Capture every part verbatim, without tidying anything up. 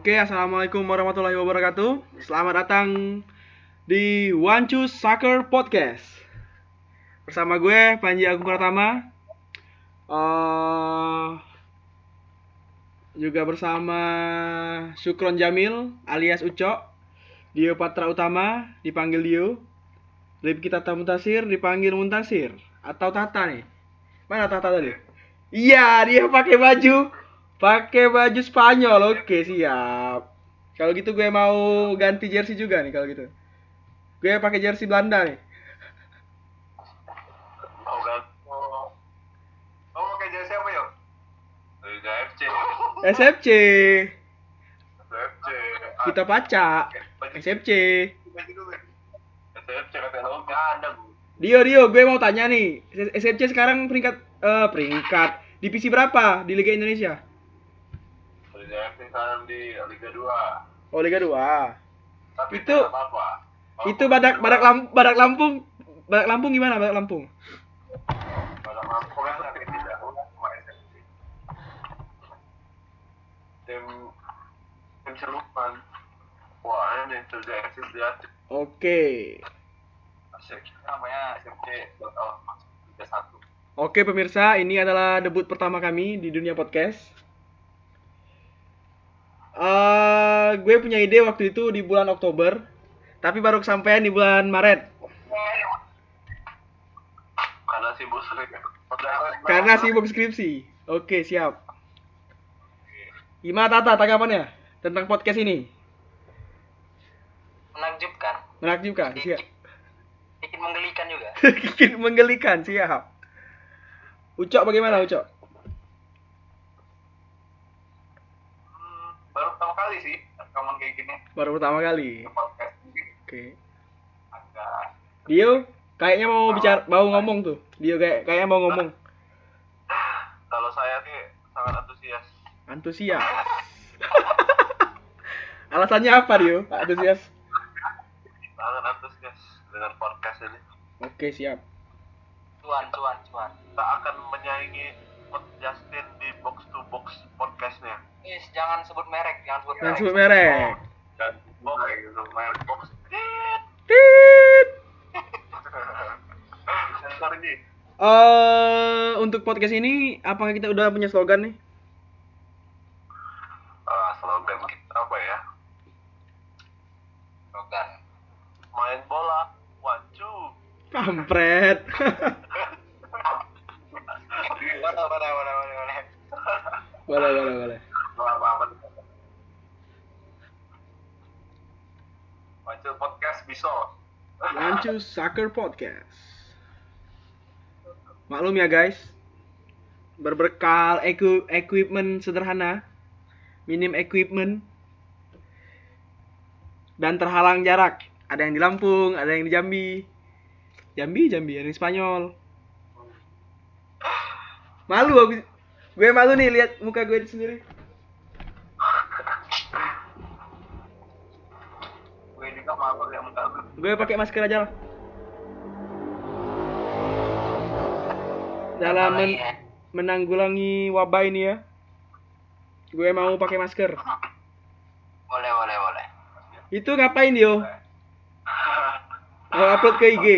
Oke, assalamualaikum warahmatullahi wabarakatuh. Selamat datang di One Choose Soccer Podcast. Bersama gue Panji Agung Pratama. Uh, juga bersama Syukron Jamil alias Ucok, Dio Patra Utama dipanggil Dio, Rifki Tata Muntasir dipanggil Muntasir atau Tata nih. Mana Tata tadi? Iya, dia pakai baju pakai baju Spanyol. Oke, siap. Kalau gitu gue mau ganti jersey juga nih kalau gitu. Gue pakai jersey Belanda nih. Oh, kan. Oh. Oh, pakai jersey apa, yuk? Liga F C. S F C. S F C. Kita baca S F C. S F C kata lo enggak ada, Bu. Dio, Dio, gue mau tanya nih. S F C sekarang peringkat eh peringkat divisi berapa di Liga Indonesia? Liga F C sekarang di Liga dua. Oh, Liga dua. Tapi Itu tidak apa-apa. Itu Badak Badak Lam, Badak Lampung. Badak Lampung gimana Badak Lampung? Badak Lampung kan tapi tidak sama S F C. Tim tim serupan. Wah, ini sudah S F C aja. Oke. Asik. Namanya S F C bakal masuk Liga satu. Oke pemirsa, ini adalah debut pertama kami di dunia podcast. Uh, gue punya ide waktu itu di bulan Oktober, tapi baru kesampaian di bulan Maret. Karena sibuk skripsi. Karena sibuk skripsi. Oke, siap. Gimana Tata tanggapannya tentang podcast ini? Menakjubkan, Menakjubkan, siap. bikin menggelikan juga. Bikin menggelikan, siap. Ucok bagaimana Ucok? Hmm, baru pertama kali sih rekaman kayak gini. Baru pertama kali. Podcast ini Oke. agak Dio, kayaknya mau bicara, mau ngomong tuh. Dio kayak kayaknya mau ngomong. kalau saya sih sangat antusias. Antusias. Alasannya apa Dio? Antusias. Sangat antusias dengan podcast ini. Oke, siap. Cuan, cuan, cuan. Kita akan menyaingi Pod Justin di box to box podcastnya. Is, jangan sebut merek, jangan sebut Jangan merek. sebut merek. Dan box gitu, main box. Tit. Sensor ini. Eh, untuk podcast ini apakah kita udah punya slogan nih? Ah, slogan kita apa ya? Slogan. Main bola, one two. Kampret. Boleh, boleh, boleh, boleh, boleh. Boleh, boleh, boleh. Apa-apa. One two podcast bisa. One Choose Soccer Podcast. Maklum ya guys, berbekal eku- equipment sederhana, minim equipment, dan terhalang jarak. Ada yang di Lampung, ada yang di Jambi. Jambi, Jambi, ada yang di Spanyol. Malu aku, gue malu nih lihat muka gue sendiri. Gue juga malu yang enggak. Gue pakai masker aja lah. Dalam men- Apalagi ya? menanggulangi wabah ini ya, gue mau pakai masker. Boleh, boleh, boleh. Itu ngapain Dio? Mau upload ke I G.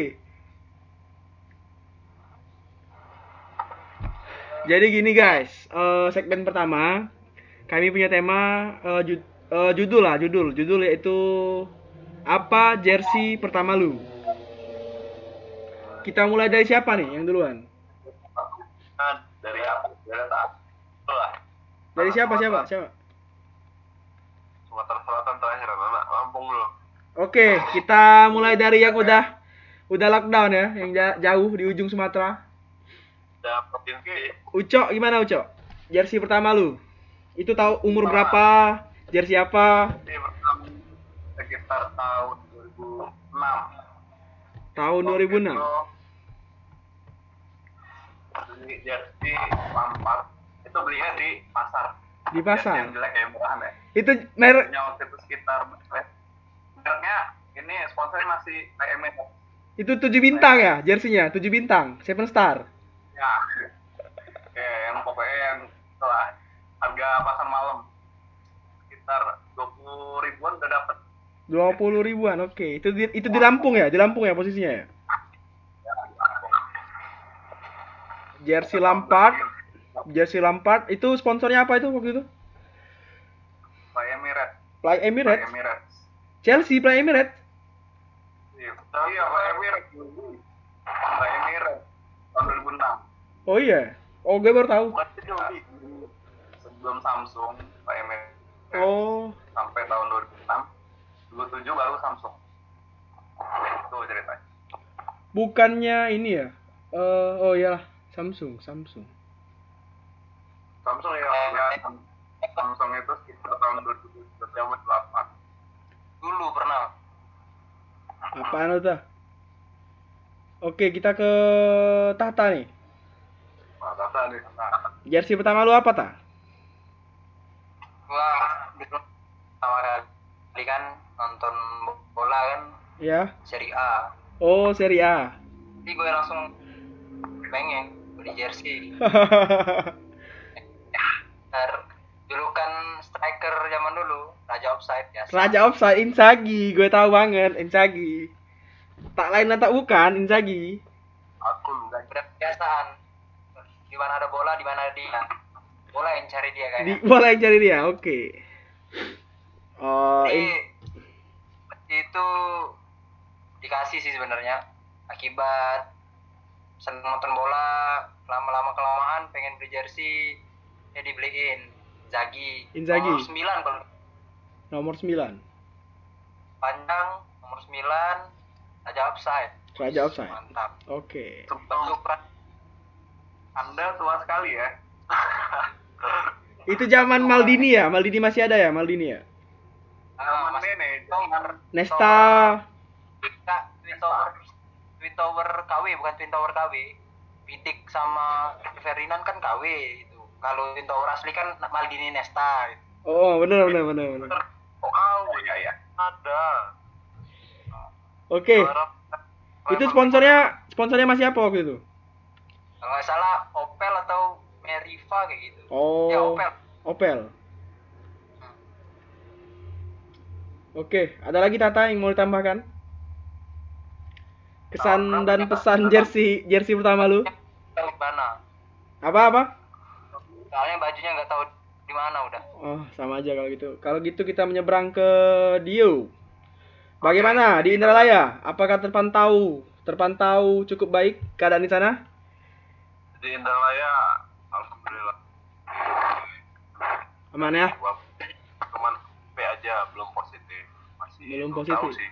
Jadi gini guys, eh, segmen pertama kami punya tema eh, ju- eh, judul lah, judul, judul yaitu apa jersey pertama lu? Kita mulai dari siapa nih yang duluan? Nah, dari apa? Dari tak. Itulah. Dari siapa siapa siapa? Sumatera Selatan terakhir, anak Lampung dulu. Oke, kita mulai dari yang udah udah lockdown ya, yang ja- jauh di ujung Sumatera. Udah provinsi. Ucok gimana Ucok? Jersey pertama lu? Itu tahu umur berapa? Jersey apa? Ini pertama sekitar tahun dua ribu enam. Tahun dua ribu enam. Beli jersey Lampard. Itu belinya di pasar. Di pasar. Yang jelek ya, murahan ya. Itu merek Punya waktu itu sekitar mereknya ini sponsornya masih P M E. itu tujuh bintang ya, jersey-nya tujuh bintang, seven star. Ya. Ya, yang pokoknya yang setelah harga pasar malam sekitar dua puluh ribuan udah dapet. dua puluh ribuan. Oke. Itu di, itu di Lampung ya? Di Lampung ya posisinya ya? Jersey Lampard. Jersey Lampard itu sponsornya apa itu waktu itu? Fly Emirates. Fly Fly Emirates. Emirates. Chelsea Fly Emirates. Iya, iya Fly Emirates. Fly Emirates tahun dua ribu enam. Oh iya. Oh, gue baru tahu. Bukan itu sebelum Samsung Fly Emirates. Oh, Sampai tahun dua ribu enam. dua ribu tujuh baru Samsung. Itu ceritanya. bukannya ini ya? Eh, oh iyalah, Samsung, Samsung. Samsung ya, ya Samsung itu sekitar tahun dua ribu delapan. Dulu pernah. Apaan itu? Oke, kita ke Tata nih. Nah, Tata nih, Tata. Jersey pertama lu apa, Ta? Gua dulu pertama kali kan nonton bola kan Ya. Serie A. Oh, Serie A. Jadi gue langsung pengen beli jersey. Ter julukan striker zaman dulu Raja Offside biasa. Raja Offside Inzaghi, gue tahu banget Inzaghi. Tak lain dan tak bukan Inzaghi. Aku enggak Udah kebiasaan. Di mana ada bola, di mana dia. Bola yang cari dia Di kayaknya. bola yang cari dia. Oke. Oh, Jadi in- itu dikasih sih sebenarnya akibat seneng nonton bola, lama-lama kelamaan pengen beli jersey ya dibeliin Inzaghi. Inzaghi. Nomor sembilan kalau nomor sembilan. panjang, nomor sembilan Raja Offside. Raja Offside. Mantap. Oke. Bentuk pra- Anda tua sekali ya. Itu zaman Maldini ya? Maldini masih ada ya? Maldini ya? Ah, Zaman Mas nenek, Tower. Nesta. Kak, Twin Tower, Twin Tower K W bukan Twin Tower K W. Vidic sama Ferdinand kan K W itu. Kalau Twin Tower asli kan Maldini Nesta. Gitu. Oh, benar benar benar benar. Oh, kau ya ya. Ada. Oke. Harap- Itu sponsornya sponsornya masih apa waktu itu? Kalau nggak salah Opel atau Meriva kayak gitu. Oh. Ya Opel. Opel. Oke, ada lagi Tata yang mau ditambahkan? Kesan dan pesan jersey jersey pertama lu? Tahu di mana? Apa apa? Soalnya bajunya nggak tahu di mana udah. Oh, sama aja kalau gitu. Kalau gitu kita menyeberang ke Dio. Bagaimana di Indralaya? Apakah terpantau terpantau cukup baik keadaan di sana? Di Indralaya, alhamdulillah. Aman ya? Gua cuman P aja belum positif. Masih Belum tahu positif. sih.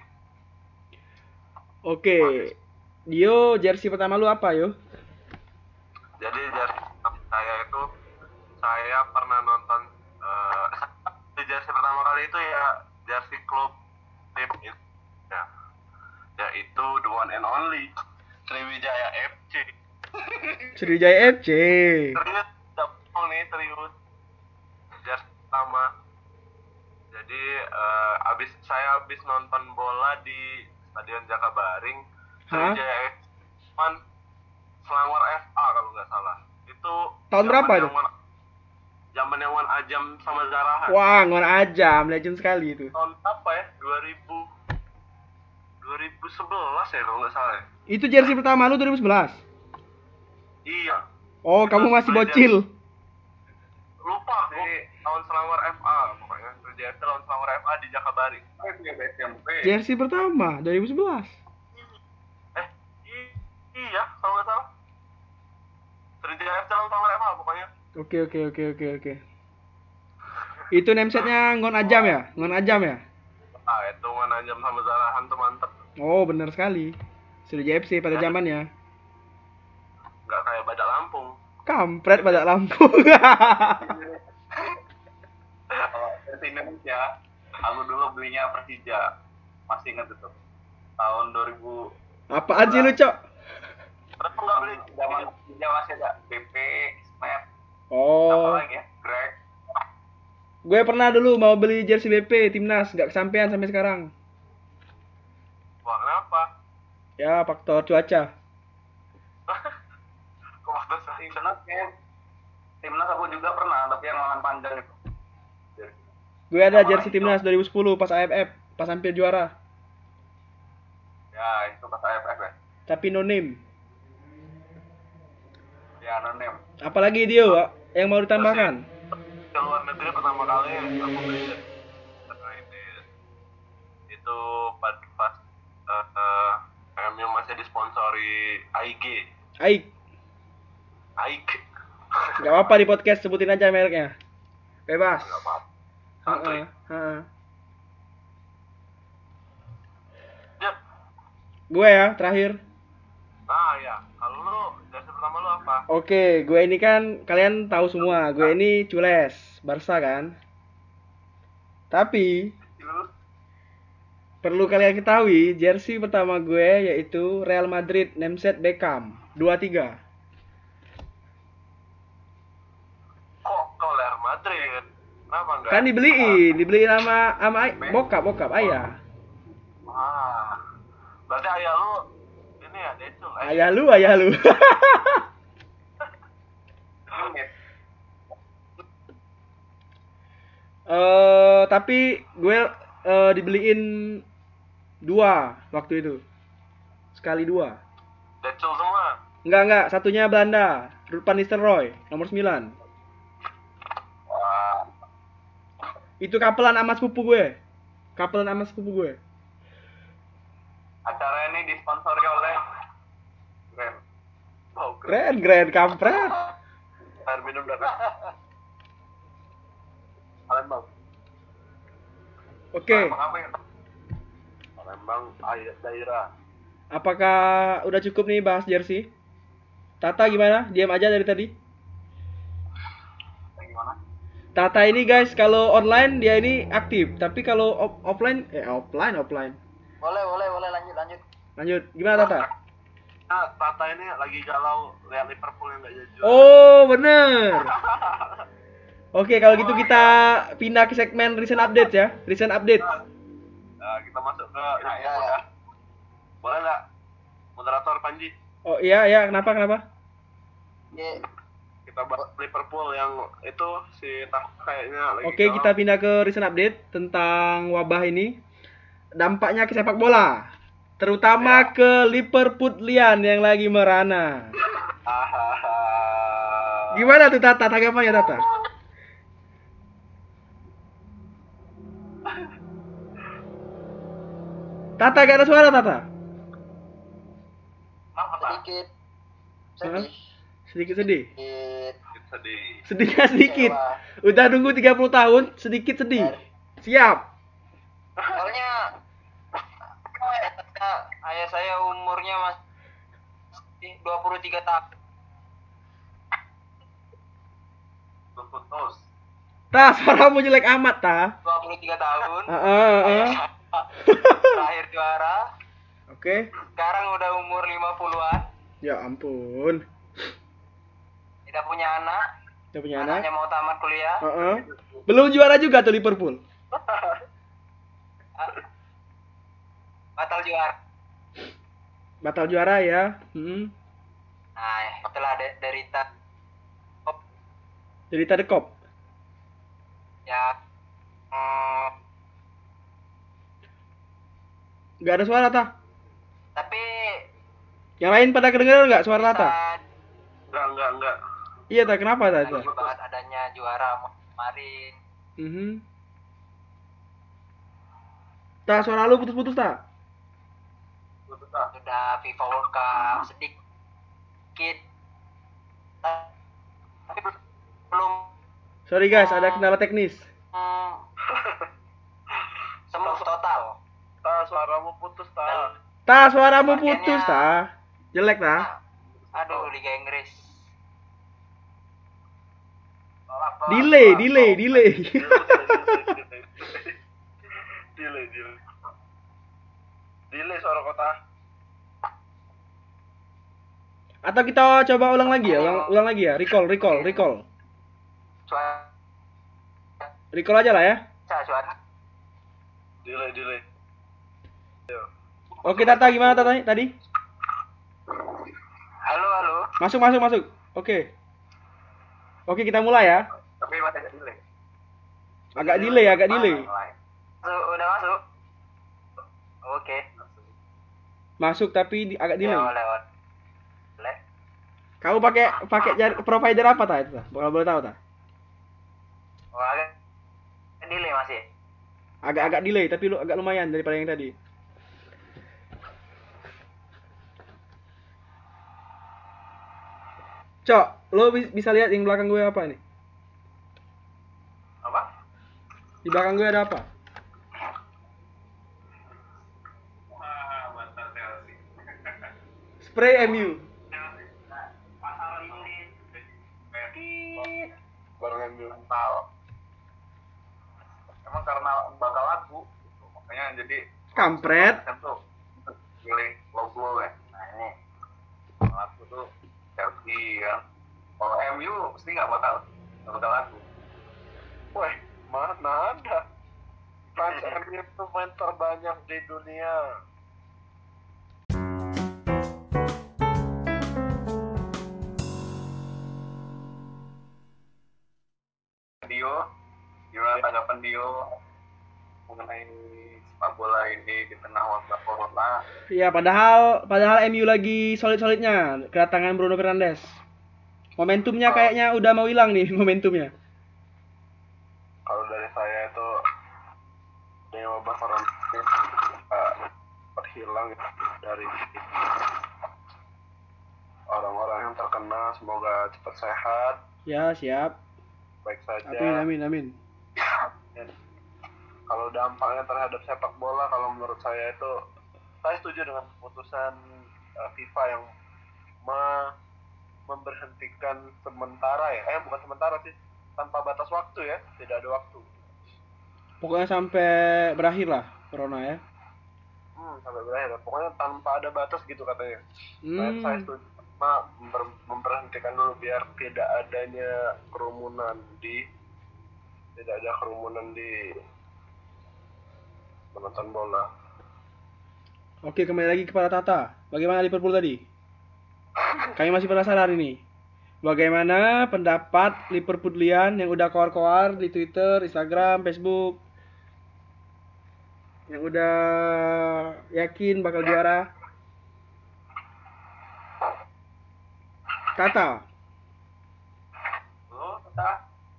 Oke. Dio, jersey pertama lu apa, yo? Jadi jersey saya itu saya pernah nonton eh di jersey pertama kali itu ya jersey klub tim itu ya yaitu the one and only Sriwijaya F C. Sriwijaya F C. Serius, tidak bohong nih serius. Jersey pertama. Jadi eh, abis saya abis nonton bola di Stadion Jakabaring, Hah? Sriwijaya F C cuman Selangor F A kalau nggak salah. Itu Tahun berapa zaman itu? yang Wan- Zaman yang Wan Ajam sama Zarahan. Wah, ngon aja, legend sekali itu. Tahun apa ya? dua ribu dua ribu sebelas ya kalau nggak salah ya. Itu jersey pertama lu dua ribu sebelas. Iya. Oh, kamu masih bocil. Lupa aku tahun Selangor F A pokoknya. Sriwijaya F C lawan Selangor F A di Jakabaring. Jersey pertama dua ribu sebelas. Eh, i- iya kalau nggak salah. Sriwijaya F C lawan Selangor F A pokoknya. Oke, oke, oke, oke, oke. Itu namesetnya Ngon Ajam ya? Ngon Ajam ya? Ah, itu Wan Ajam sama Zarahan tuh mantep. Oh, benar sekali. Sriwijaya F C pada zamannya. Nggak kayak Badak Lampung. Kampret pada Lampung. Kalau versi Indonesia, aku dulu belinya Persija. Masih ingat itu. Tahun dua ribu. Apaan sih lu, Cok? Kenapa nggak beli? Zaman Persija masih ada B P, Smith, apa Oh, lagi ya? Greg. gue pernah dulu mau beli jersey B P timnas, nggak kesampaian sampai sekarang. Wah, kenapa? Ya, faktor cuaca. Kok waktu saya timnas ya? Timnas aku juga pernah, tapi yang lengan panjang itu. Gue ada jersey timnas dua ribu sepuluh pas A F F, pas hampir juara. Ya, itu pas A F F ya. Tapi no name. Ya, anonim. Apalagi dia, Wak, yang mau ditambahkan? Ke luar negeri pertama kali aku beli karena ini itu pas pas uh, uh, M U masih disponsori A I G. Aik. A I G. Gak apa-apa di podcast sebutin aja mereknya. Bebas. Enggak apa. Heeh, Santuy. heeh. Ya. Gue ya, terakhir. Ah ya, kalau lu jersey pertama lu apa? Oke, gue ini kan kalian tahu semua, gue ini cules, Barca kan. Tapi Lu perlu kalian ketahui, jersey pertama gue yaitu Real Madrid nameset Beckham dua tiga. kok kau Real Madrid? Kenapa enggak? Kan dibeliin, dibeliin sama sama ay- bokap, bokap ayah. Ah. Berarti ayah lu ini ya Decul. Eh, Ayah lu, ayah lu. Eh, tapi gue eh, dibeliin dua waktu itu. Sekali dua. Decul semua. Enggak, enggak, satunya Belanda, Ruud van Nistelrooy, nomor sembilan. Wah. Itu kapelan sama sepupu gue. Kapelan sama sepupu gue. Acara ini disponsori oleh Keren. Oh, Keren, keren, kampret. Air minum dan Palembang. Oke, Palembang apa ya? Palembang air daerah. apakah udah cukup nih bahas jersey? Tata gimana? Diam aja dari tadi. Gimana? Tata ini guys, kalau online dia ini aktif, tapi kalau off- offline, eh offline, offline. Boleh, boleh, boleh lanjut, lanjut. Lanjut, gimana Tata? Nah, Tata ini lagi galau lihat Liverpool yang nggak jadi juara. Oh, bener. Oke, kalau gitu kita pindah ke segmen recent update ya. Recent update. Nah, kita masuk ke Ya, Liverpool ya. ya. Boleh nggak? Moderator Panji, Oh iya, ya, kenapa, kenapa? Ye, kita bahas Liverpool yang itu si Tata kayaknya lagi Oke, galau. kita pindah ke recent update tentang wabah ini. Dampaknya ke sepak bola, terutama ke Liverpoolian yang lagi merana. Hahaha. Gimana tuh Tata? Tanggapannya Tata? Tata, gak ada suara Tata? Kenapa, Tak? sedikit. Sedih. Sedikit sedih. Sedikit. Sedih. Sedikit sedikit. Kecewa. Udah nunggu tiga puluh tahun, sedikit sedih. Siap. Soalnya ayah, ayah saya umurnya masih dua puluh tiga tahun. Lu putus. Tah, suaramu jelek amat, Tah. dua puluh tiga tahun. Heeh, heeh. Terakhir juara. Oke. Sekarang udah umur lima puluhan. Ya ampun. Tidak punya anak. Udah punya anak? Anaknya mau tamat kuliah. Heeh. Belum juara juga tuh Liverpool. Batal juara. Batal juara ya. Hmm. Nah, setelah de- derita Derita The Cop. ya hmm, Gak ada suara, Tah. tapi Yang lain pada kedengeran nggak suara bisa Tata? Enggak, enggak, enggak. Iya, Tah. Kenapa, Tata? banget adanya juara kemarin. Mhm. Tah, suara lu putus-putus, Tah. Putus, Tak. Sudah FIFA World Cup sedikit, tapi belum Sorry guys, ada kendala teknis. hmm, sembuh total. Tak, suaramu putus, Tak. Tah, suaramu putus, Tah. Jelek, Tah. Aduh, Liga Inggris. Delay, delay, delay. Delay, delay. Delay suara kota. Atau kita coba ulang lagi ya, ulang, ulang lagi ya. Recall, recall, recall. Cuaca, Recall aja lah ya. cuaca. Delay, delay. Oke, Tata gimana Tata tadi? Halo, halo. Masuk, masuk, masuk. Oke. Oke, kita mulai ya. Tapi masih ada delay. Agak delay, agak delay. Masuk, udah masuk. Oke. Masuk tapi di- agak delay. Ya, boleh, boleh. Boleh. Kamu pakai pakai jar- provider apa ta itu? Ta? Kalau boleh tahu ta? Oh, agak delay masih. Agak-agak delay tapi lu agak lumayan daripada yang tadi. Cok, lo bi- bisa lihat yang belakang gue apa nih? Apa? Di belakang gue ada apa? Wah, mantan Chelsea. Spray M U. Pasal ini. Baru ngambil mental. Emang karena bakal lagu, gitu. Makanya jadi Kampret. kan tuh pilih logo ya. Nah ini lagu tuh Chelsea kan. Kalau M U pasti nggak bakal nggak bakal lagu. Wah, mana ada? Fans M U itu main terbanyak di dunia. Dio, gimana tanggapan Dio mengenai sepak bola ini di tengah wabah corona? Ya, padahal padahal M U lagi solid-solidnya kedatangan Bruno Fernandes. Momentumnya kayaknya udah mau hilang nih momentumnya. Kalau dari saya itu dari wabah corona ini uh, terhilang dari orang-orang yang terkena, semoga cepat sehat, Ya, siap. baik saja. Amin, amin, amin. Dan kalau dampaknya terhadap sepak bola, kalau menurut saya itu saya setuju dengan keputusan uh, FIFA yang me- memberhentikan sementara ya, eh bukan sementara sih, tanpa batas waktu ya, tidak ada waktu. Pokoknya sampai berakhir lah corona ya. Hmm, sampai berakhir. Pokoknya tanpa ada batas gitu katanya. Saya, saya Hmm. setuju sama member- memberhentikan dulu biar tidak adanya kerumunan di tidak ada kerumunan di menonton bola. Oke, kembali lagi kepada Tata. Bagaimana Liverpool tadi? Kami masih penasaran ini. Bagaimana pendapat Liverpoolian yang udah koar-koar di Twitter, Instagram, Facebook, yang udah yakin bakal juara? Tata, Lo, Tata?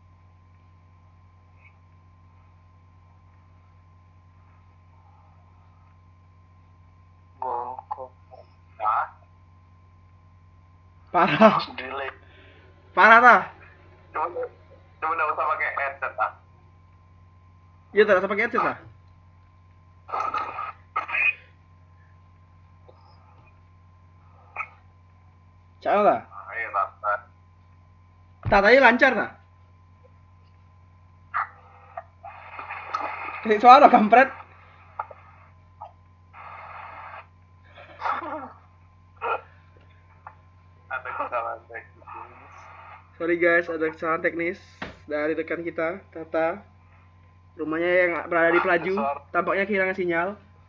Gongkok. Nah, parah, delay. parah ta? Cuma, cuma nggak usah pakai headset ah. Iya, tak usah pakai headset lah. Cak lah. Nah, iya Tata. Tatanya lancar nah. Kasih suara kampret. Ada kesalahan teknis. Sorry guys, ada kesalahan teknis dari rekan kita, Tata. Rumahnya yang berada di Pelaju, tampaknya kehilangan sinyal.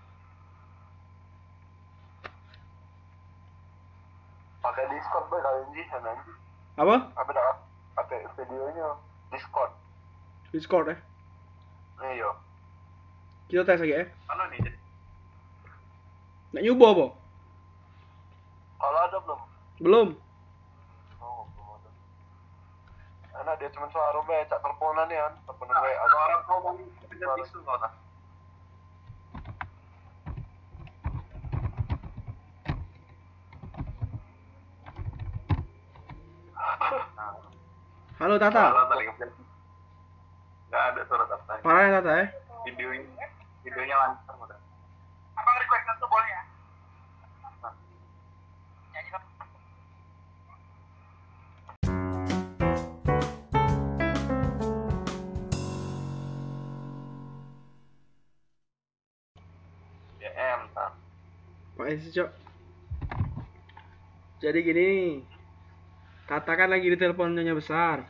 Pakai Discord boy kali ini sana. Apa? Apa dah? Pakai videonya Discord. Discord ya. Iya. Kita tes lagi ya. Mana nih? Nggak nyoba apa? Kalau ada belum? Belum. Oh, belum ada. Enak dia cuma suara be, cak teleponan ya, teleponan W A. Suara ngomong dengan tisu kau tak? Halo Tata. Suara tadi nggak ada suara Tata. Parah ya Tata ya. Videonya, videonya lancar udah. Abang request satu boleh ya? Nyanyi dong. D M tak? Pak Esi Cok. Jadi gini nih. Tata kan lagi di telepon Nyonya Besar.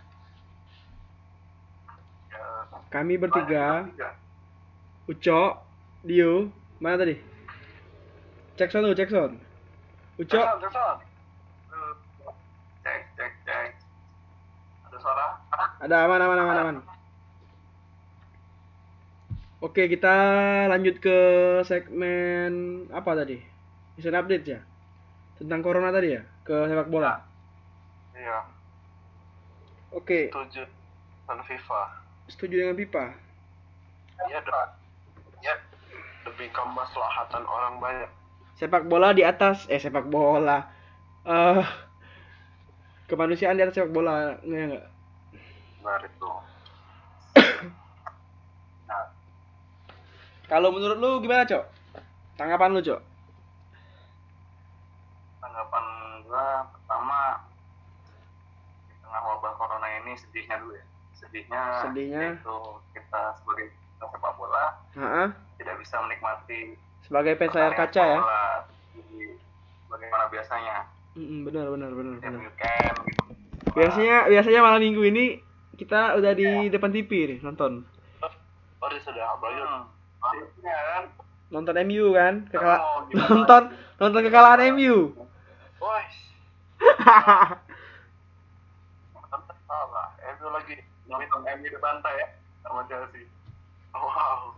Ya. Kami bertiga, Tiga. Ucok, Dio, mana tadi? Cek sound dulu, cek sound. Ucok, Telepon, telepon. Eh, Cek, cek, cek. Ada suara? ada aman, aman, aman, aman. Oke, kita lanjut ke segmen apa tadi? Recent update ya? Tentang corona tadi ya? Ke sepak bola. Iya, Oke, setuju dengan FIFA. setuju dengan FIFA. Iya dong. Ya, demi kemaslahatan orang banyak. Sepak bola di atas eh sepak bola. Eh kemanusiaan di atas sepak bola, enggak enggak. Benar itu. Nah, Kalau menurut lu gimana, Cok? Tanggapan lu, Cok? Tanggapan gua pertama di tengah wabah corona ini sedihnya dulu ya. Sedihnya, Sedihnya. itu kita sebagai sepak bola Heeh. tidak bisa menikmati Sebagai fans layar kaca ya. bola di bagaimana biasanya. Mm, benar benar benar Tiap benar. weekend gitu. Biasanya biasanya malam minggu ini kita udah di depan T V nih nonton. oh dia sudah apalagi Hmm. Maksudnya kan Nonton M U kan? Kekala mau gimana nonton nonton kekalahan M U. wah salah M U lagi nonton M U dibantai ya sama Chelsea. wow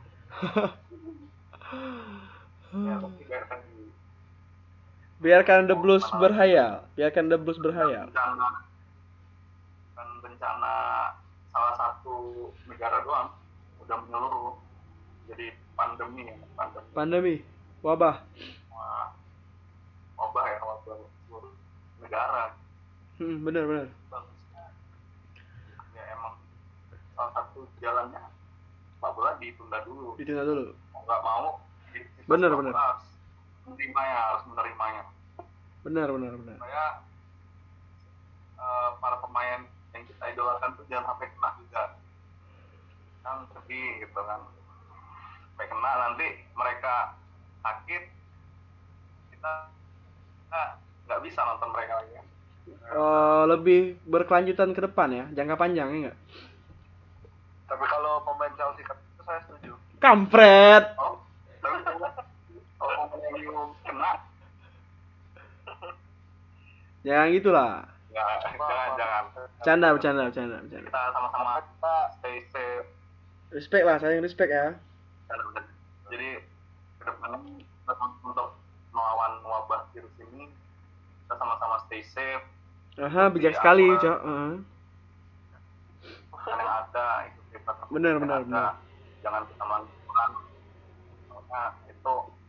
Ya, tapi biarkan di Biarkan the blues berhayal. Biarkan the blues berhayal. bencana kan bencana salah satu negara doang udah menyeluruh jadi pandemi ya pandemi Pandemi, wabah. Wah, wabah ya wabah seluruh negara. Hmm, benar benar. Bagusnya ya emang salah satu jalannya sepak bola ditunda dulu. Ditunda dulu. Mau nggak mau di- kita Bener, sepak bener. bola harus menerimanya harus menerimanya Benar benar benar. supaya eh, para pemain yang kita idolakan tuh jangan sampai kena juga kan sedih gitu kan sampai kena nanti mereka sakit kita kita nggak bisa nonton mereka lagi kan. Eh, lebih berkelanjutan ke depan ya, jangka panjang ya enggak? tapi kalau pemain Chelsea kan itu saya setuju Kampret. Oh, tapi kalau pemain yang kena Jangan gitulah. nggak jangan jangan Bercanda, bercanda, bercanda, bercanda. kita sama-sama kita stay safe. Respect lah, saya respect ya. Jadi kedepannya untuk melawan wabah virus ini kita sama-sama stay safe. Aha, bijak sekali, Cok. Heeh. Kan yang ada itu kita Benar, benar, ada. benar. Jangan kita melakukan karena itu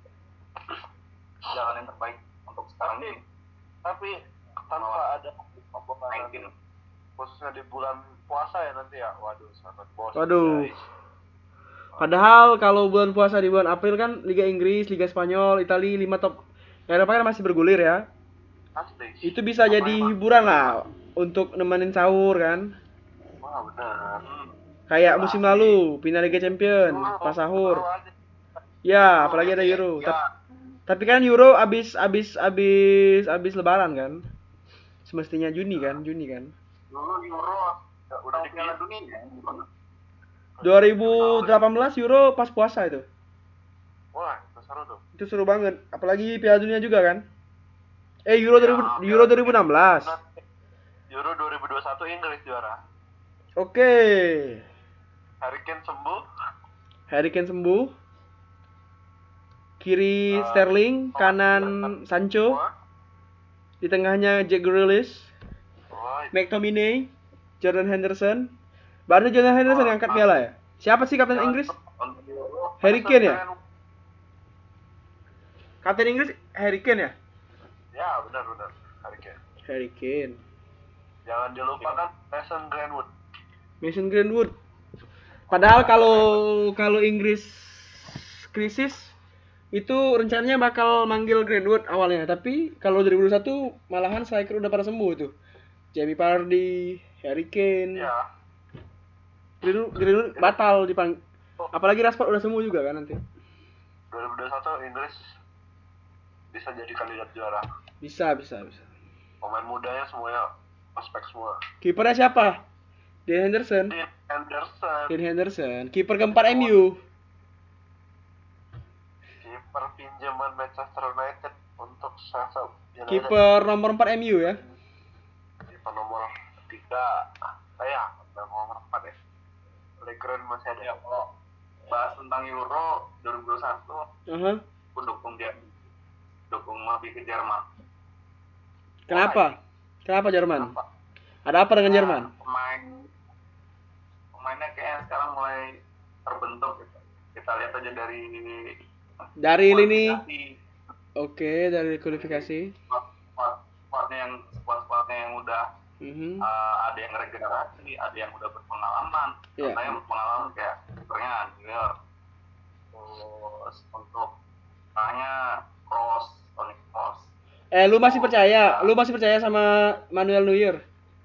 jalan yang terbaik untuk sekarang ini. tapi tanpa ada pembukaan sembilan belas khususnya di bulan puasa ya nanti ya waduh sangat bosan Waduh. guys. Padahal kalau bulan puasa di bulan April kan Liga Inggris, Liga Spanyol, Italia lima top Eropa kan masih bergulir ya. asli Itu bisa jadi hiburan lah untuk nemenin sahur kan. wah benar Hmm. Kayak musim lalu, final Liga Champion, pas sahur. Ya, apalagi ada Euro. Ya, Tap- Tapi kan Euro abis abis abis abis Lebaran kan. Semestinya Juni kan, Juni kan. dulu Euro ya, udah udah di Piala Dunia. dua ribu delapan belas Euro pas puasa itu. wah itu seru tuh Itu seru banget. Apalagi Piala Dunia juga kan. Eh Euro dua ribu, Euro dua ribu enam belas. Euro dua ribu dua puluh satu Inggris juara Oke. Harry Kane sembuh Harry Kane sembuh. Kiri Uh, Sterling, kanan Sancho, Wah, di tengahnya Jack Grealish, wah, McTominay, Jordan Henderson. Baru Jordan Henderson yang angkat piala ya? Siapa sih kapten Inggris? Untuk Euro Harry Kane ya? Kapten Inggris Harry Kane ya? ya benar-benar Harry Kane Harry Kane. jangan dilupakan Mason Greenwood Mason Greenwood. Padahal kalau kalau Inggris krisis itu rencananya bakal manggil Greenwood awalnya, tapi kalau dua ribu dua puluh satu malahan striker udah pada sembuh tuh. Jamie Vardy, Harry Kane. ya Greenwood, Greenwood batal dipang. Apalagi Rashford udah sembuh juga kan nanti. dua ribu dua puluh satu Inggris bisa jadi kandidat juara Bisa, bisa, bisa. pemain mudanya semuanya prospek semua Kipernya siapa? Dean Henderson. Dean Henderson Dean Henderson. Kiper keempat M U. kiper pinjaman Manchester United untuk Sheffield United. Kiper nomor empat M U ya. Kiper nomor tiga ah ya nomor empat ya Legren masih ada ya kalau bahas tentang Euro dua ribu dua puluh satu, Aha. aku dukung dia, dukung lebih ke Jerman. Kenapa? Kenapa Jerman? Kenapa? Ada apa dengan Jerman? Nah, pemain pemainnya kayaknya sekarang mulai terbentuk gitu. Kita lihat aja dari Dari lini. kualifikasi. Oke, dari kualifikasi. Squad- squadnya yang squad-squadnya yang udah Mhm. uh, ada yang regenerasi, ada yang udah berpengalaman. Iya. Contohnya yang berpengalaman kayak sebenarnya Neuer. Terus untuk tanya Kroos, Toni Kroos. Eh, lu masih percaya? Lu masih percaya sama Manuel Neuer?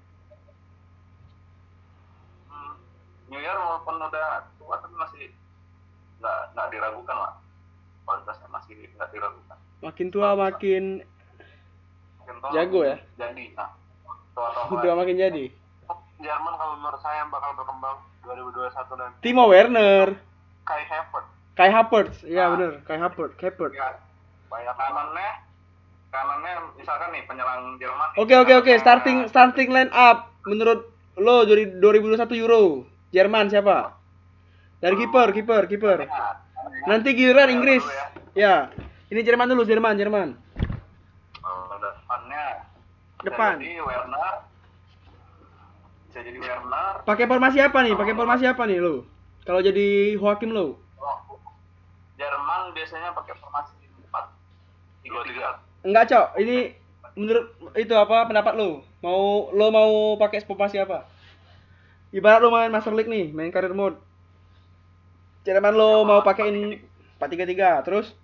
Hmm, Neuer walaupun udah tua tapi masih nggak nggak diragukan lah, kualitasnya masih nggak diragukan. Makin tua makin Mungkin toh jago ya? Jadi, nah, tua atau udah enggak, makin jadi. Jerman kalau menurut saya yang bakal berkembang dua ribu dua puluh satu nanti Timo Werner, Kai Havertz. Kai Havertz. Iya Ah. bener, Kai Havertz, Havertz. ya, banyak kanannya, kanannya misalkan nih penyerang Jerman. Oke oke oke, starting starting line up menurut lo dari dua ribu dua puluh satu Euro. Jerman siapa? Dari kiper, kiper, kiper. Nanti giliran Inggris. Ya. Ini Jerman dulu, Jerman, Jerman. Oh, depannya Depan. bisa jadi Werner, bisa jadi Werner. Pakai formasi apa nih? Pakai formasi apa nih lo? Kalau jadi Joachim lo? Oh, Jerman biasanya pakai formasi empat tiga tiga. Enggak, Cok. Ini menurut itu apa pendapat lo? Mau lo mau pakai formasi apa? Ibarat lo main Master League nih, main career mode. Jerman lo mau pakein empat tiga tiga, terus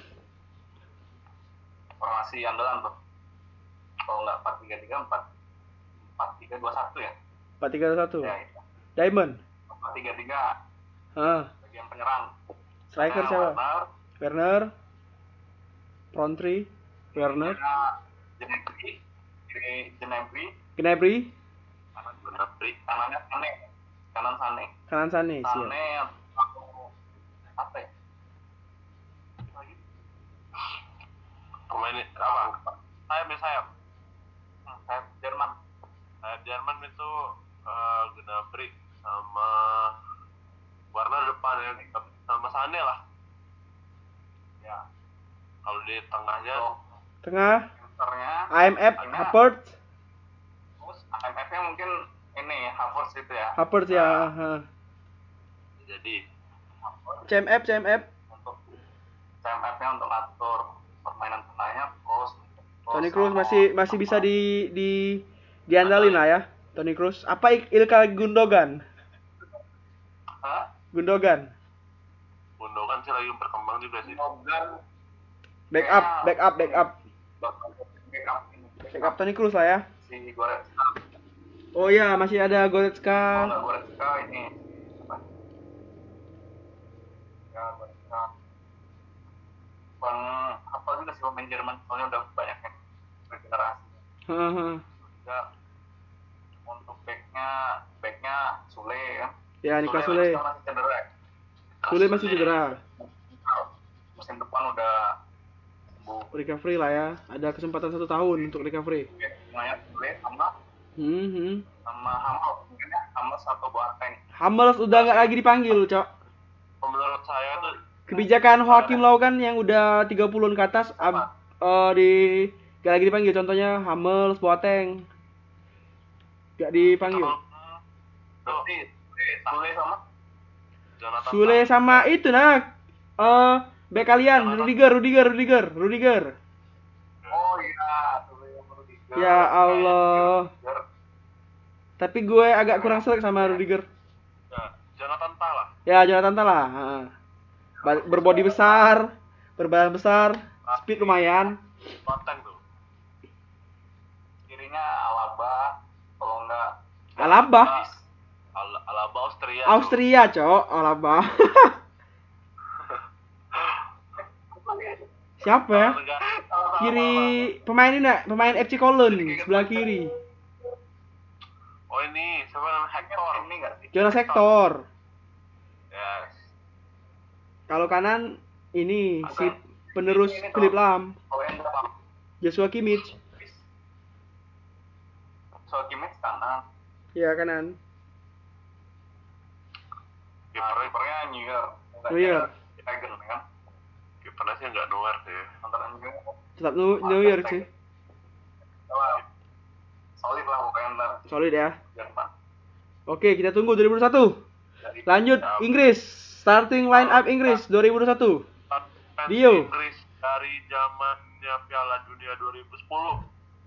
Formasi andalan tuh. Kalau nggak empat tiga tiga, empat empat tiga dua satu ya. empat tiga satu. Ya itu. Diamond. empat tiga tiga Ah, bagian penyerang. striker Nah, siapa? Werner, Werner. Front three. Werner. Gnabry, kiri Gnabry, Gnabry. kanan Gnabry, kanannya Sane, kanan Sane, Kanan Sane, siap. Sane atau apa ya? Lagi? Pemain apa? Sayap nih sayap. Hmm, sayap Jerman. Sayap Jerman itu eh, Gnabry sama Warna depan ya, sama Sane lah. Ya. Kalau di tengahnya Untuk Tengah. centernya I M F Havertz. terus I M F-nya mungkin ini Havertz itu ya. Havertz ya. Ha. jadi Havertz. C M F C M F. Untuk C M F-nya untuk atur permainan tengahnya terus Toni Kroos masih masih bisa di di diandalin lah ya. Toni Kroos. Apa Ik- Ilkay Gundogan? Hah? Gundogan. Gundogan sih lagi berkembang juga sih. Gundogan Backup, backup, backup. backup ini. Backup Toni Kroos lah ya. Si Goretzka. Oh iya, masih ada Oh, Goretzka. enggak Goretzka ini. Apa? Ya, Goretzka. Bang, apa juga sih pemain Jerman, soalnya udah banyak yang regenerasi. Haha. Juga untuk backnya, backnya Sule kan. Ya, Niklas Sule. Sule masih cedera. ya? Sule masih cedera. Musim depan udah sembuh. Recovery lah ya. Ada kesempatan satu tahun untuk recovery. Semuanya Sule sama Hmm, hmm. sama Hummels, mungkin ya Hummels atau Boateng. Hummels udah nggak lagi dipanggil, Cok. Menurut saya tuh Kebijakan Joachim Löw kan yang udah tiga puluhan ke atas ab, eh, di gak lagi dipanggil. Contohnya Hummels, Boateng. Gak dipanggil. Berarti Sule sama Jonathan Sule sama itu nah. Eh, back kalian Rudiger, Rudiger, Rudiger, Rudiger. Oh iya, Sule sama Rudiger. Ya Allah. Rudiger. Tapi gue agak kurang selek sama Rudiger. Ya, Jonathan Tah lah. Ya, Jonathan Tah lah. Ha. Ba- Berbodi besar, berbadan besar, speed lumayan. Boateng tuh. Kirinya Alaba, kalau enggak Alaba, Al- Alaba Austria. tuh. Austria, Cok. Alaba. Siapa ya? Negara- Kiri pemain ini nak, pemain F C Cologne sebelah kiri. Oh ini siapa namanya Hector. ini enggak sih? Jonas Hector. Yes. Kalau kanan ini si penerus Philip Lahm, Kalau yang depan Joshua Kimmich. Soal Kimmich kanan. Ya kanan. Nah, kipernya Neuer. Neuer. Stegen kan. Kipernya sih nggak Neuer sih. Antara Neuer. Tetap Nu- Neuer sih. Wah, solid lah pokoknya ntar Solid ya. Jerman. Oke, kita tunggu dua ribu dua puluh satu. Dari Lanjut Ya. Inggris. Starting line up Inggris dua ribu dua puluh satu. Fans Dio. Inggris dari zamannya Piala Dunia dua ribu sepuluh.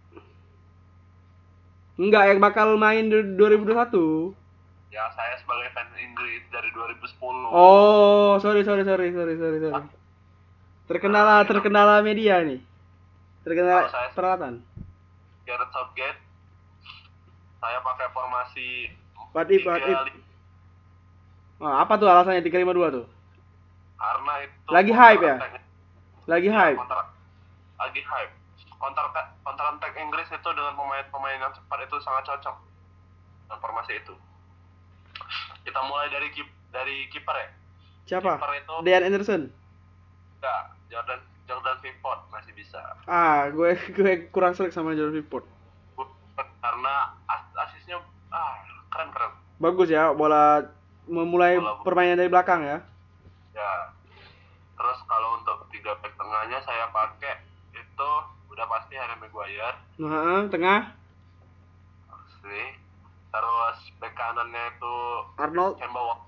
Enggak, yang bakal main di dua ribu dua puluh satu. Ya, saya sebagai fans Inggris dari dua ribu sepuluh. Oh, sorry sorry sorry sorry sorry sorry. Terkendala terkendala media nih. Terkendala Kalau saya- peralatan. Gareth Southgate. Saya pakai formasi What if, what if? tiga lima. Oh, apa tuh alasannya tiga lima dua tuh? Karena itu Lagi counter hype ya? attack- Lagi ya, hype. counter- lagi hype. Counter counter attack Inggris itu dengan pemain-pemain yang cepat itu sangat cocok dengan formasi itu. Kita mulai dari kip, dari kiper ya. Siapa? Kiper itu Dean Anderson. enggak, Jordan Jordan Pickford masih bisa. Ah, gue gue kurang serik sama Jordan Pickford. Karena as asisnya ah keren keren. Bagus ya, bola memulai Bola- permainan dari belakang ya. Ya. Terus kalau untuk tiga back tengahnya saya pakai itu udah pasti Harry Maguire. Nah, tengah Asli. Terus back kanannya itu Arnold. Kemba Walker.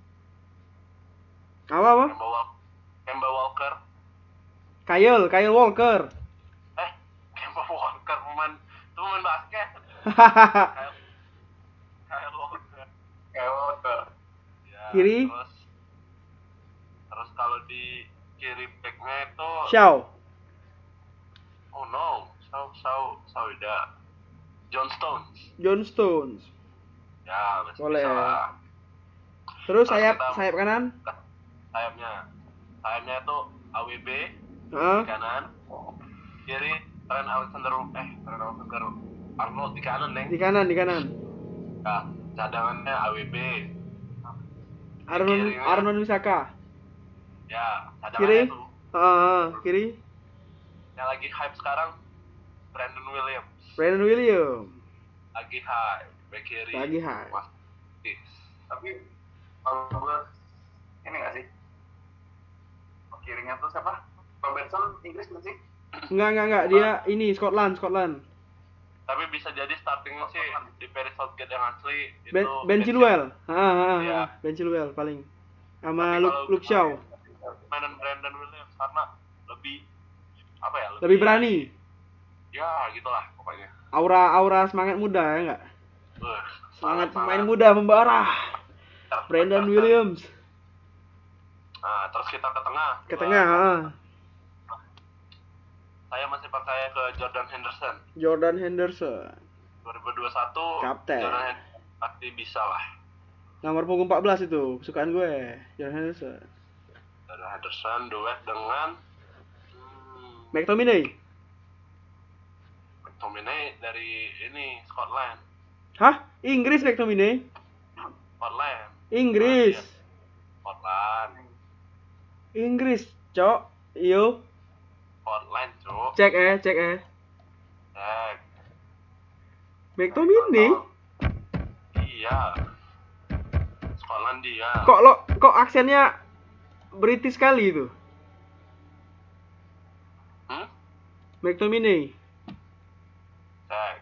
Apa apa? Kemba Walker. Kemba Walker. Kyle, Kyle Walker. Eh, Kemba Walker pemain itu pemain basket. Kyle, Kyle Walker. kayak Walker. Ya, Kiri? Terus terus kalau di kiri backnya itu Shaw. oh no, Sau Sau Sauda. John Stones. John Stones. Ya, masih Boleh. bisa lah. Terus Terus sayap kita- sayap kanan. Sayapnya. Sayapnya itu A W B Heeh. di kanan. Kiri Trent Alexander eh Trent Alexander Arnold di kanan, Neng. Di kanan, di kanan. Ya, cadangannya A W B. Arnon Kirinya. Arnon Wisaka. Ya, Kiri. cadangannya itu. Heeh, kiri. Yang lagi hype sekarang Brandon Williams. Brandon Williams. Lagi hype. Back kiri. Lagi hype. Mas- Tapi kalau gue ini nggak sih? Kirinya tuh siapa? Robertson Inggris nggak sih? Enggak, enggak, enggak. Dia ini Scotland, Scotland. Tapi bisa jadi startingnya sih di Perry Southgate yang asli Ben, itu ben Chilwell. Heeh, heeh, Iya. heeh. Ben Chilwell paling. Sama Tapi Luke, kalau Luke Shaw. Mainan Brandon Williams karena lebih apa ya? Lebih berani. Ya, gitulah pokoknya. Aura aura semangat muda ya enggak? Wah, Semangat sangat- pemain sangat. muda membara. Brandon Williams Nah, terus kita ke tengah. ke tengah, heeh. Saya masih percaya ke Jordan Henderson. Jordan Henderson. dua ribu dua puluh satu Kapten. Jordan Henderson pasti bisa lah. Nomor punggung empat belas itu, kesukaan gue. Jordan Henderson. Jordan Henderson duet dengan hmm, McTominay. McTominay dari ini Scotland. Hah? Inggris McTominay? Scotland. Inggris. Scotland. Inggris, Cok. Iyo. Scotland, Cuk. Cek eh, cek eh. Cek. McTominay? Iya. Skotlandia. Kok lo kok aksennya British sekali itu? Hmm? McTominay. Cek.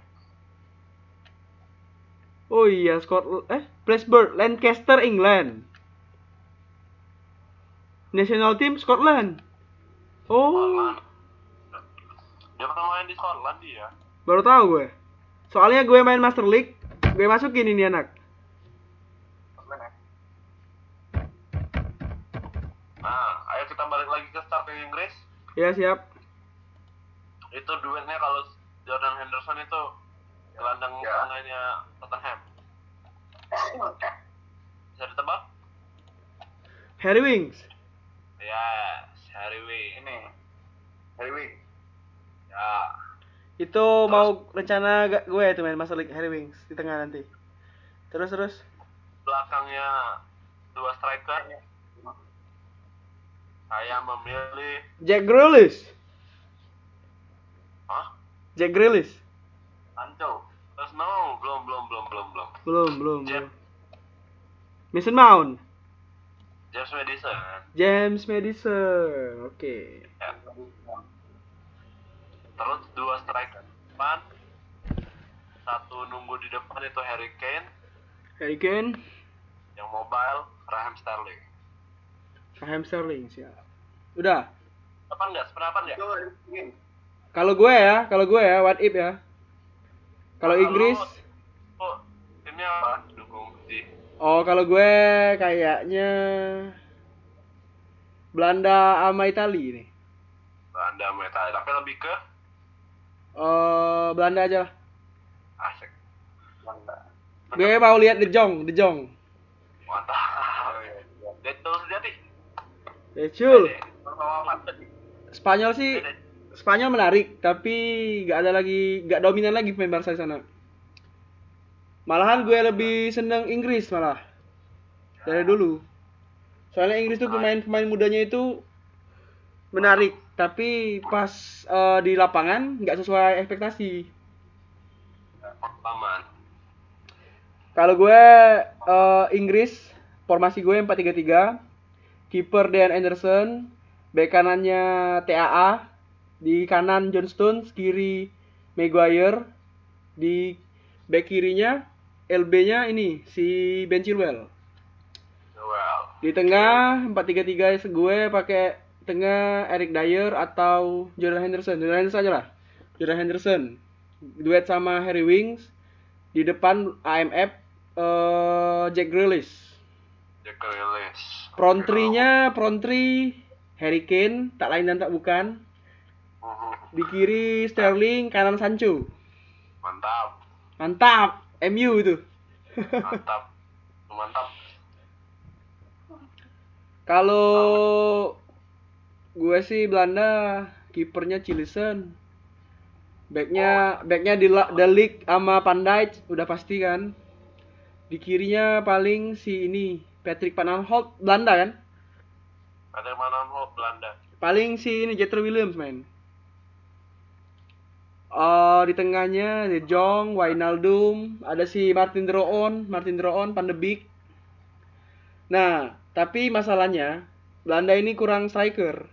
Oh iya, Scotland eh Blackburn, Lancaster, England. National team Scotland. Oh, Scotland. Dia pernah main di Skotlandia. baru tahu gue. Soalnya gue main Master League, gue masukin ini anak. Nah, ayo kita balik lagi ke starting Inggris. Ya siap. Itu duetnya kalau Jordan Henderson itu gelandang Ya. tengahnya Tottenham. Bisa ditebak? Harry Winks. Yes, Harry Winks. Ini Harry Winks. Ya. Itu mau rencana ga- gue itu main Master League Harry Winks di tengah nanti. Terus terus. Belakangnya dua striker. Saya memilih Jack Grealish. Hah? Jack Grealish. Sancho. Terus no, belum belum belum belum belum. Belum, belum, Jack. belum. Mason Mount. James Madison. James Madison. Oke. Ya. Terus dua striker depan, satu nunggu di depan itu Harry Kane, Harry Kane, yang mobile Raheem Sterling. Raheem Sterling siap. Udah. Apa enggak? Sependapat enggak? Kalau gue ya, kalau gue ya, what if ya. Kalau Kalau Inggris, Oh, ini apa? Dukung si oh kalau gue kayaknya Belanda sama Italia nih. Belanda sama Italia, tapi lebih ke Eh Belanda aja lah. asik. Gue mau lihat De Jong, De Jong. Mantap. Betul sejati. Decul. Bersama Mantap. Spanyol sih, Spanyol menarik, tapi nggak ada lagi, nggak dominan lagi pemain Barca di sana. Malahan gue lebih seneng Inggris malah dari dulu. Soalnya Inggris tuh pemain-pemain mudanya itu menarik, tapi pas eh, di lapangan nggak sesuai ekspektasi. Paman. Kalau gue eh, Inggris, formasi gue empat tiga tiga, kiper Dean Anderson, bek kanannya T A A, di kanan John Stones, kiri Maguire, di bek kirinya L B-nya ini si Ben Chilwell. Well. Di tengah empat tiga tiga gue pakai tengah Eric Dyer atau Jordan Henderson. Jordan Henderson aja lah. Jordan Henderson duet sama Harry Winks. Di depan A M F eh, Jack Grealish. Jack Grealish. Front three-nya front three Harry Kane, tak lain dan tak bukan. Mhm. Di kiri Sterling, kanan Sancho. Mantap. Mantap, M U itu. Mantap. Mantap. Kalau gue sih Belanda, kipernya Cillessen. Backnya backnya di De Ligt sama Van Dijk udah pasti kan. Di kirinya paling si ini Patrick Van Aanholt Belanda kan. Ada mana mau Belanda? Paling si ini Jetro Williams main. Oh, di tengahnya De Jong, Wijnaldum, ada si Martin Droon, Martin Droon, Van de Beek. Nah, tapi masalahnya Belanda ini kurang striker.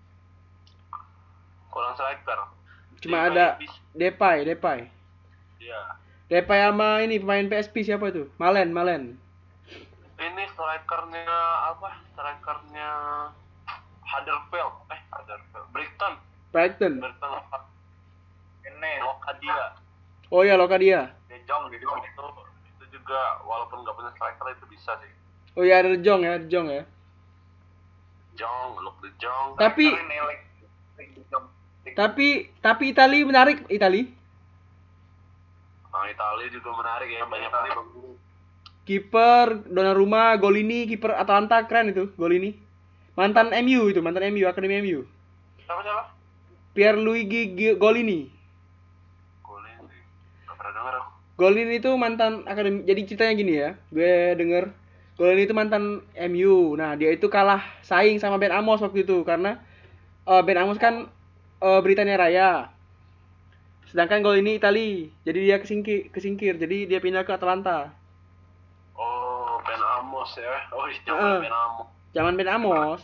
Kurang striker. Cuma Di ada bis- Depay, Depay. Iya. Depay sama ini pemain P S P siapa itu? Malen, Malen. Ini strikernya apa? Strikernya Huddersfield. Eh, Huddersfield. Brighton. Brighton. Brighton apa? Ini Lokadia. Oh iya, Lokadia. De Jong, De Jong. Itu itu juga walaupun nggak punya striker itu bisa sih. Oh iya, ada De Jong ya, De Jong ya. Jong, look the Jong. Tapi Striker ini, like, De Jong. tapi tapi Itali menarik, Itali. Nah, Italia juga menarik ya, banyak kali bagus. Kiper Donnarumma, Golini, kiper Atalanta keren itu, Golini. Mantan M U itu, mantan M U, akademi M U. Siapa siapa? Pierluigi G- Golini. Golin sih. Gak pernah denger aku. Golini itu mantan akademi. Jadi ceritanya gini ya, gue denger Golini itu mantan M U. Nah, dia itu kalah saing sama Ben Amos waktu itu karena eh, Ben Amos kan eh, Britania Raya. Sedangkan Golini Itali. Jadi dia kesingkir, kesingkir. Jadi dia pindah ke Atalanta. Oh, Ben Amos ya. Oh, itu Heeh. Ben Amos. Zaman Ben Amos.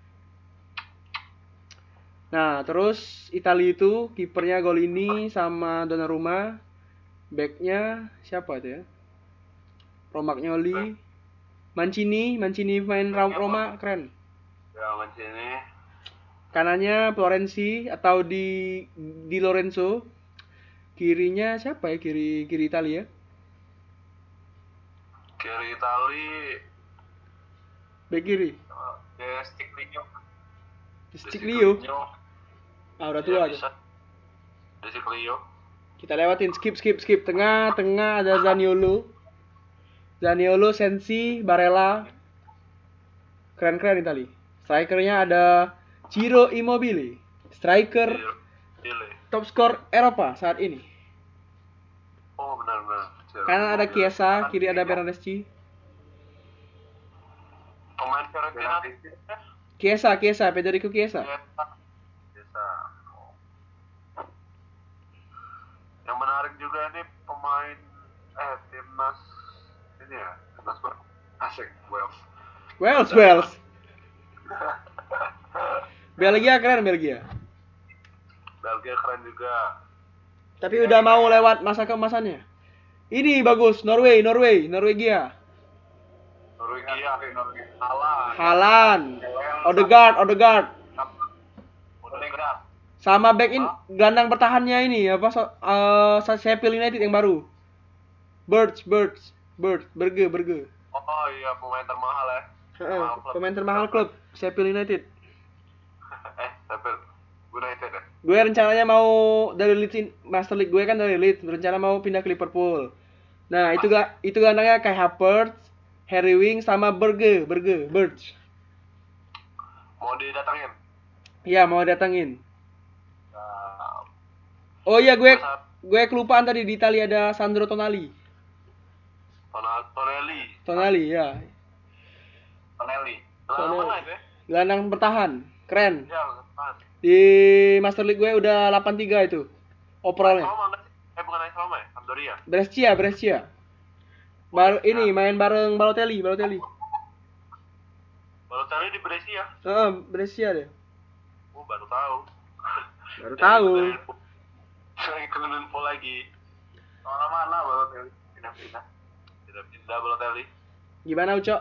Nah, terus Italia itu kipernya Golini sama Donnarumma. Backnya siapa itu ya? Romagnoli, Mancini, Mancini main Ram- Roma keren. Ya, sini. Kanannya Florenzi atau di di Lorenzo. Kirinya siapa ya? Kiri kiri Italia. Kiri Itali. Back kiri. uh, De Stiglio. Stiglio. Ah, udah tua Ya, aja. bisa. De Stiglio. Kita lewatin skip skip skip tengah tengah ada Zaniolo. Zaniolo, Sensi, Barella. Keren-keren Itali. Strikernya ada Ciro Immobile. Striker Chile. top skor Eropa saat ini. Oh, benar-benar. Kanan ada Chiesa, kiri ada Bernardeschi. Pemain Fiorentina. Chiesa, Chiesa, Federico Chiesa. Bisa. Yang menarik juga ini pemain eh timnas ini ya, timnas ber- asik Wales. Wales, Wales. Belgia keren Belgia. Belgia keren juga. Tapi udah mau lewat masa keemasannya. Ini bagus, Norway, Norway, Norwegia. Norwegia, Haaland. Haaland, Odegaard, Odegaard. Odegaard. Sama back in gelandang bertahannya ini apa so, uh, Sheffield United yang baru. Birds, Birds, Birds, Berge, Berge. Oh iya, pemain termahal ya. Heeh, pemain termahal klub Sheffield United. eh, Sheffield United ya. Gue rencananya mau dari Leeds in- Master League gue kan dari Leeds, rencana mau pindah ke Liverpool. Nah, itu gak itu gelandangnya kayak Havertz, Harry Winks sama Berge, Berge, Birds. Mau didatangin? Iya, mau datangin. Nah, Oh iya, gue masa- gue kelupaan tadi di Italia ada Sandro Tonali. Tonal- Tonelli. Tonali ya. Tonelli. Gelandang Tonelli. mana itu ya? Gelandang bertahan. Keren. Ya, kan. Di Master League gue udah delapan tiga itu. Overallnya. Roma nggak sih? Eh bukan AS Roma ya? Sampdoria. Brescia, Brescia. Baru ini main bareng Balotelli, Balotelli. Balotelli di Brescia. Heeh, Brescia deh. Oh, baru tahu. Baru tahu. Lagi kena info lagi. Mana-mana Balotelli. Pindah-pindah. Tidak pindah Balotelli. Gimana Ucok?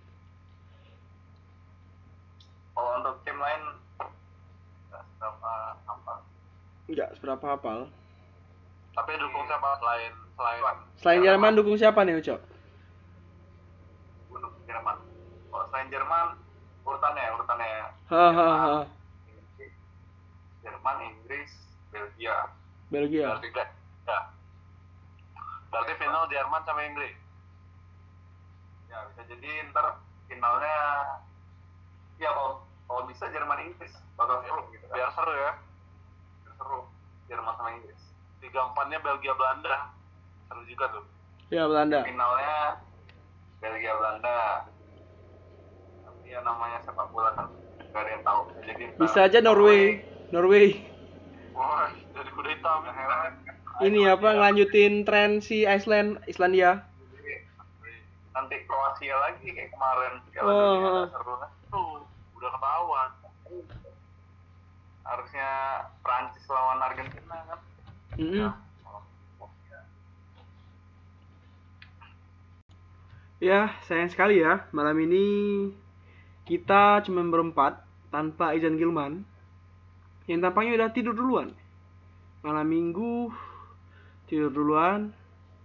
Kalau untuk tim lain nggak seberapa apa. Enggak seberapa hafal. Tapi dukung siapa selain selain Selain Jerman dukung siapa nih Ucok? Untuk Jerman. Kalau selain Jerman urutannya urutannya Hahaha. Jerman, Inggris, Belgia. Belgia. Berarti enggak? Ya. Berarti final Jerman sama Inggris. Ya bisa jadi ntar finalnya ya kalau kalau bisa Jerman Inggris bakal seru gitu kan. Biar seru ya. Biar seru Jerman sama Inggris. Tiga empatnya Belgia Belanda. Seru juga tuh. Ya Belanda. Finalnya Belgia Belanda. Tapi ya namanya sepak bola kan nggak ada yang tahu. Jadi ntar Bisa aja Norway. Norway. Wah, jadi kuda hitam. Ini apa ngelanjutin tren si Iceland, Islandia. nanti Kroasia lagi kayak kemarin Piala Oh, Dunia oh. nggak seru kan. Tuh, udah ketahuan. Harusnya Prancis lawan Argentina kan. Mm-mm. Ya. Ya, sayang sekali ya. Malam ini kita cuma berempat tanpa Izan Gilman. Yang tampaknya udah tidur duluan. Malam minggu tidur duluan.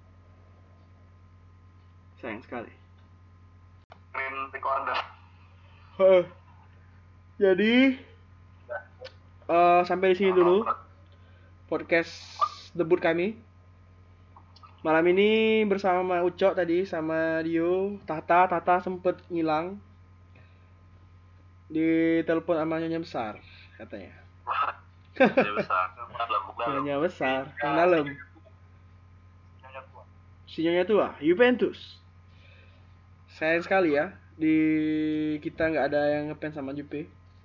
Sayang sekali. Screen recorder. Heeh. Jadi eh, sampai di sini dulu podcast debut kami. Malam ini bersama Ucok tadi sama Dio, Tata, Tata sempet ngilang. Di telepon sama Nyonya Besar katanya. Dia besar. Dalam, dalam. Nyonya Besar, yang dalam. Nyonya tua. Si Nyonya tua, Juventus. Sayang sekali ya, di kita nggak ada yang ngefans sama Juve.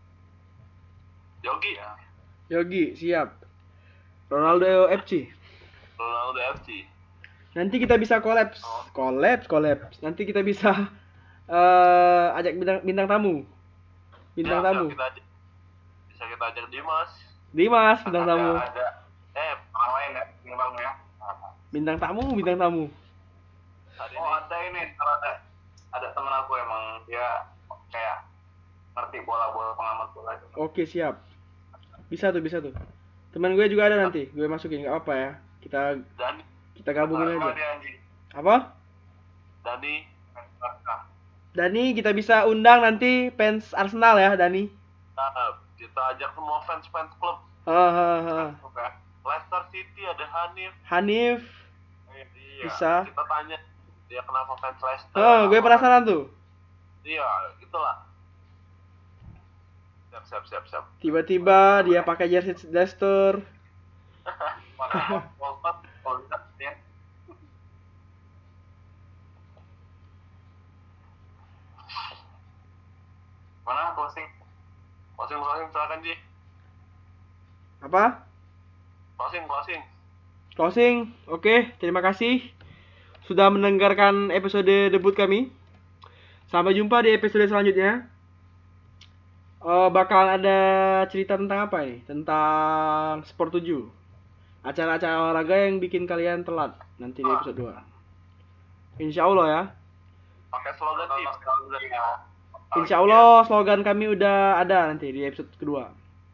Yogi ya. Yogi, siap. Ronaldo F C. Ronaldo F C. Nanti kita bisa kolaps, kolaps, kolaps. Nanti kita bisa eh ajak bintang, bintang tamu, bintang Ya, tamu. Bisa kita ajak, bisa kita ajak Dimas. Dimas, bintang Ada- tamu, Ada Eh, orang lain ya, bintang ya. bintang tamu, bintang tamu. hari Oh ini ada ini, ntar ada ada temen aku emang dia kayak ngerti bola-bola pengamat bola gitu. Oke, siap. Bisa tuh, bisa tuh. Teman gue juga ada nanti, gue masukin nggak apa ya. Kita Dani, kita gabungin Sama aja. dia anjing. Apa? Dani, Nah, Dani kita bisa undang nanti fans Arsenal ya, Dani. nah, kita ajak semua fans fans klub. Hahaha. oke. Leicester City ada Hanif. Hanif. Iya. Bisa. Kita tanya dia kenapa fans Leicester. Oh, gue penasaran tuh. Iya, gitulah. Siap, siap, siap, siap. Tiba-tiba dia pakai jersey Leicester. Mana Wolford kalau bisa ya. Mana closing? Closing, closing, silakan Ji. Apa? Closing, closing. Closing. Oke, terima kasih sudah mendengarkan episode debut kami. Sampai jumpa di episode selanjutnya. Eh, bakalan ada cerita tentang apa nih? Tentang Sport tujuh. Acara-acara olahraga yang bikin kalian telat nanti di episode dua. Insya Allah ya. Pakai slogan tim. Insya Allah slogan kami udah ada nanti di episode kedua.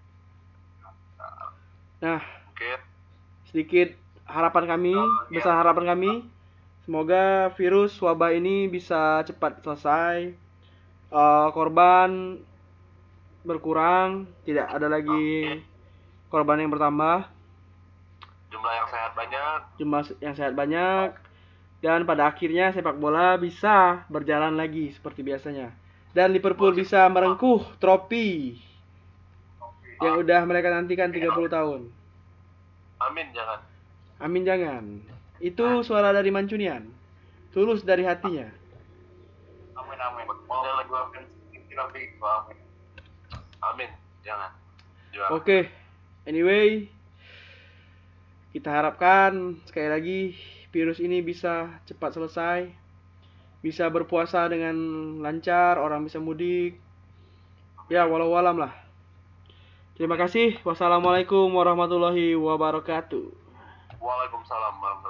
Nah, Oke. sedikit harapan kami, besar harapan kami, semoga virus wabah ini bisa cepat selesai, Eh, korban berkurang, tidak ada lagi korban yang bertambah, Jumlah yang sehat banyak. jumlah yang sehat banyak, dan pada akhirnya sepak bola bisa berjalan lagi seperti biasanya. Dan Liverpool bisa merengkuh trofi yang udah mereka nantikan tiga puluh tahun. Amin jangan. Amin jangan. Itu suara dari Mancunian. Tulus dari hatinya. Amin amin. Mau gua akan trofi gua amin. Amin jangan. Juara. Oke. Anyway, kita harapkan sekali lagi virus ini bisa cepat selesai. Bisa berpuasa dengan lancar, orang bisa mudik. Ya, walau alam lah. Terima kasih. Wassalamualaikum warahmatullahi wabarakatuh. Waalaikumsalam warahmatullahi